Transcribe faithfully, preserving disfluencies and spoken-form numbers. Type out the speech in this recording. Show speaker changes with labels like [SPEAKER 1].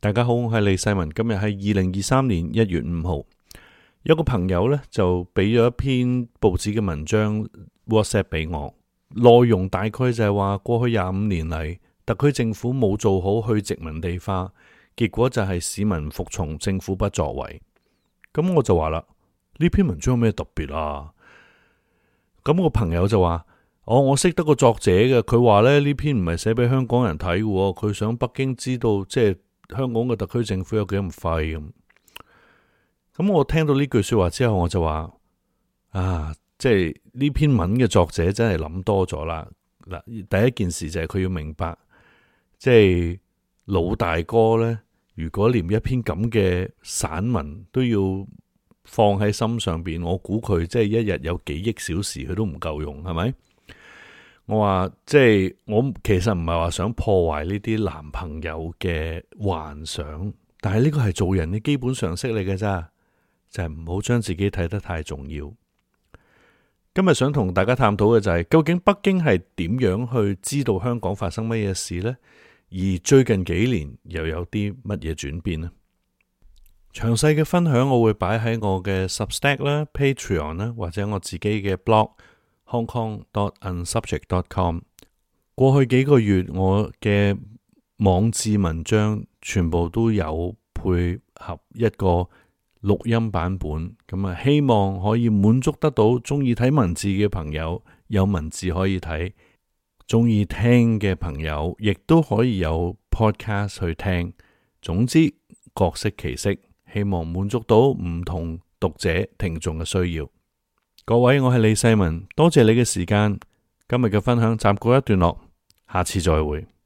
[SPEAKER 1] 大家好，我係李世民。今日係二零二三年一月五號。有個朋友呢，就俾咗一篇報紙嘅文章 WhatsApp 俾我，內容大概就係話過去廿五年嚟，特區政府冇做好去殖民地化，結果就係市民服從政府不作為。咁我就話啦，呢篇文章有咩特別啊？咁個朋友就話：哦，我識得個作者嘅，佢話咧呢篇唔係寫俾香港人睇嘅，佢想北京知道即係香港嘅特區政府有幾咁廢咁。咁我聽到呢句說話之後，我就話：啊，即係呢篇文嘅作者真係諗多咗啦。嗱，第一件事就係佢要明白，即係老大哥呢，如果連一篇咁嘅散文都要放喺心上邊，我估佢即係一日有幾億小時佢都唔夠用，係咪？我話即係我其實唔係話想破壞呢啲男朋友嘅幻想，但係呢個係做人嘅基本常識嚟嘅咋，就係唔好將自己睇得太重要。今日想同大家探討嘅就係，究竟北京係點樣去知道香港發生乜嘢事呢？而最近幾年又有啲乜嘢轉變呢？詳細嘅分享我會擺喺我嘅 Substack 啦、Patreon 啦，或者我自己嘅 blog hong kong dot unsubject dot com。過去幾個月我嘅網誌文章全部都有配合一個錄音版本，咁啊希望可以滿足得到中意睇文字嘅朋友有文字可以睇，中意聽嘅朋友亦都可以有 podcast 去聽。總之各色其色，希望滿足到唔同讀者聽眾嘅需要。各位，我係李世民，多謝你嘅時間。今日嘅分享暫告一段落，下次再會。